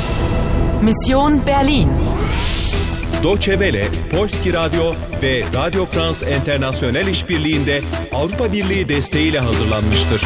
Mission Berlin. Deutsche Welle, Polski Radyo ve Radio France International işbirliğinde Avrupa Birliği desteğiyle hazırlanmıştır.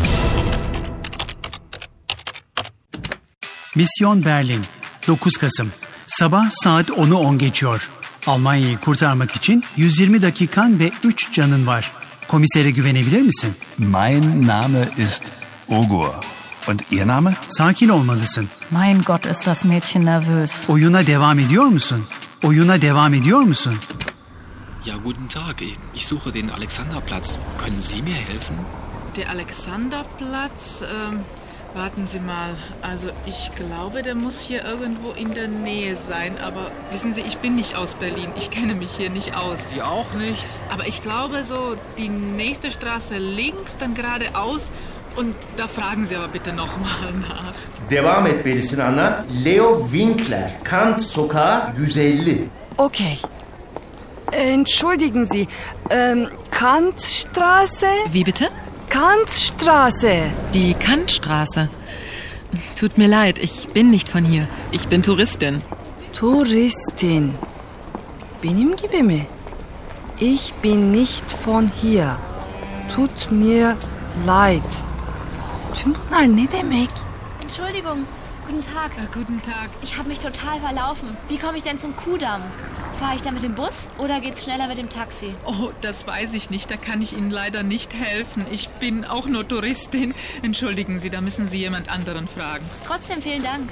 Mission Berlin, 9 Kasım. Sabah saat 10'u 10 geçiyor. Almanya'yı kurtarmak için 120 dakikan ve 3 canın var. Komisere güvenebilir misin? Mein Name ist Ogur. Und Ihr Name? Sakin olmalısın. Mein Gott, ist das Mädchen nervös. Oyuna devam ediyor musun? Oyuna devam ediyor musun? Ja, guten Tag. Ich suche den Alexanderplatz. Können Sie mir helfen? Der Alexanderplatz, warten Sie mal. Also ich glaube, der muss hier irgendwo in der Nähe sein. Aber wissen Sie, ich bin nicht aus Berlin. Ich kenne mich hier nicht aus. Sie auch nicht? Aber ich glaube so, die nächste Straße links, dann geradeaus. Und da fragen Sie aber bitte nochmal nach. Devam etmelisin Anna. Leo Winkler, Kant Sokağı 150. Okay. Entschuldigen Sie, Kantstraße? Wie bitte? Kantstraße. Die Kantstraße. Tut mir leid, ich bin nicht von hier. Ich bin Touristin. Touristin. Benim gibi mi? Ich bin nicht von hier. Tut mir leid. Tüm bunlar ne demek? Entschuldigung, guten Tag. Guten Tag. Ich habe mich total verlaufen. Wie komme ich denn zum Kudamm? Fahre ich da mit dem Bus oder geht's schneller mit dem Taxi? Oh, das weiß ich nicht. Da kann ich Ihnen leider nicht helfen. Ich bin auch nur Touristin. Entschuldigen Sie, da müssen Sie jemand anderen fragen. Trotzdem vielen Dank.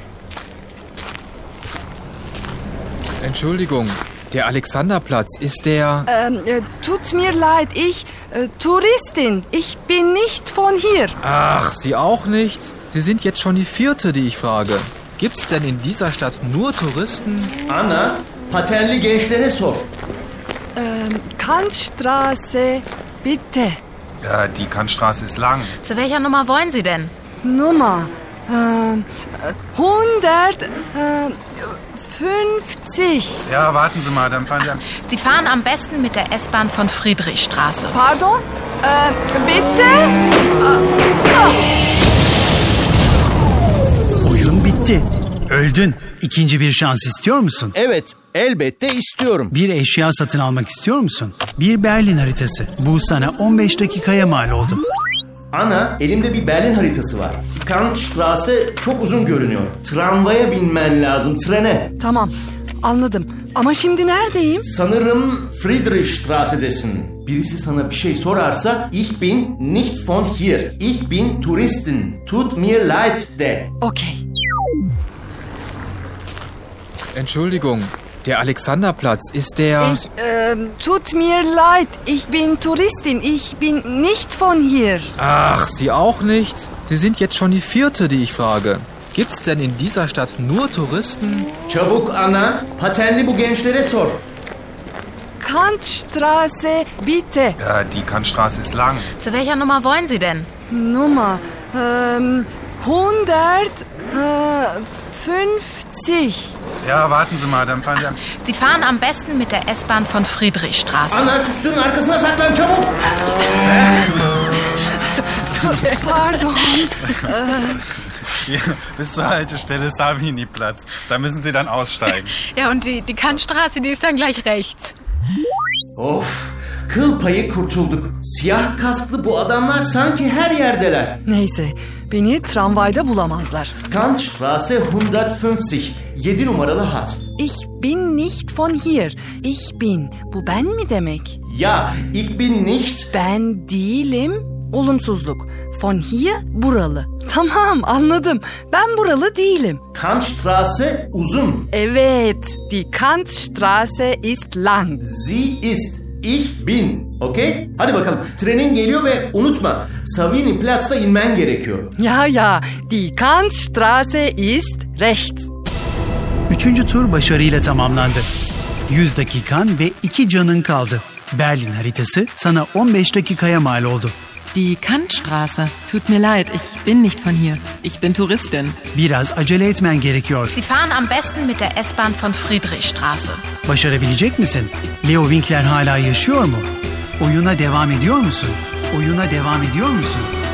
Entschuldigung, der Alexanderplatz, ist der... Tut mir leid, ich, Touristin. Ich bin nicht von hier. Ach, Sie auch nicht? Sie sind jetzt schon die 4., die ich frage. Gibt's denn in dieser Stadt nur Touristen? Anna, patenli gençlere sor. Kantstraße, bitte. Ja, die Kantstraße ist lang. Zu welcher Nummer wollen Sie denn? Nummer 150. Ja, warten Sie mal, dann fahren Sie... Sie fahren am besten mit der S-Bahn von Friedrichstraße. Pardon? Bitte? Oyun bitti. Öldün. İkinci bir şans istiyor musun? Evet, elbette istiyorum. Bir eşya satın almak istiyor musun? Bir Berlin haritası. Bu sana 15 dakikaya mal oldu. Ana, elimde bir Berlin haritası var. Kantstraße çok uzun görünüyor. Tramvaya binmen lazım, trene. Tamam, anladım. Ama şimdi neredeyim? Sanırım Friedrichstrasse'desin. Birisi sana bir şey sorarsa ich bin nicht von hier. Ich bin Touristin. Tut mir leid de. Okay. Entschuldigung, der Alexanderplatz, ist der... Tut mir leid. Ich bin Touristin. Ich bin nicht von hier. Ach, Sie auch nicht? Sie sind jetzt schon die 4., die ich frage. Gibt's denn in dieser Stadt nur Touristen? Çabuk Anna, patenli bu gençlere sor. Kantstraße, bitte. Ja, die Kantstraße ist lang. Zu welcher Nummer wollen Sie denn? Nummer 150. Ja, warten Sie mal, dann fahren Sie... Sie fahren am besten mit der S-Bahn von Friedrichstraße. Anna, şu üstünün arkasına saklan çabuk. Pardon. Hier, bis zur Haltestelle Savini-Platz. Da müssen Sie dann aussteigen. Ja, und die Kantstraße, die ist dann gleich rechts. Of, kıl payı kurtulduk. Siyah kasklı bu adamlar sanki her yerdeler. Neyse, beni tramvayda bulamazlar. Kantstraße 150, 7 numaralı hat. Ich bin nicht von hier. Ich bin. Bu ben mi demek? Ya, ich bin nicht... Ben değilim. Olumsuzluk. Von hier, buralı. Tamam, anladım. Ben buralı değilim. Kantstraße uzun. Evet, die Kantstraße ist lang. Sie ist. Ich bin. Okey? Hadi bakalım. Trenin geliyor ve unutma. Savini Platz'ta inmen gerekiyor. Ya, die Kantstraße ist rechts. Üçüncü tur başarıyla tamamlandı. 100 dakikan ve 2 canın kaldı. Berlin haritası sana 15 dakikaya mal oldu. Die Kantstraße. Tut mir leid, ich bin nicht von hier. Ich bin Touristin. Biraz acele etmen gerekiyor. Sie fahren am besten mit der S-Bahn von Friedrichstraße. Başarabilecek misin? Leo Winkler hala yaşıyor mu? Oyuna devam ediyor musun? Oyuna devam ediyor musun?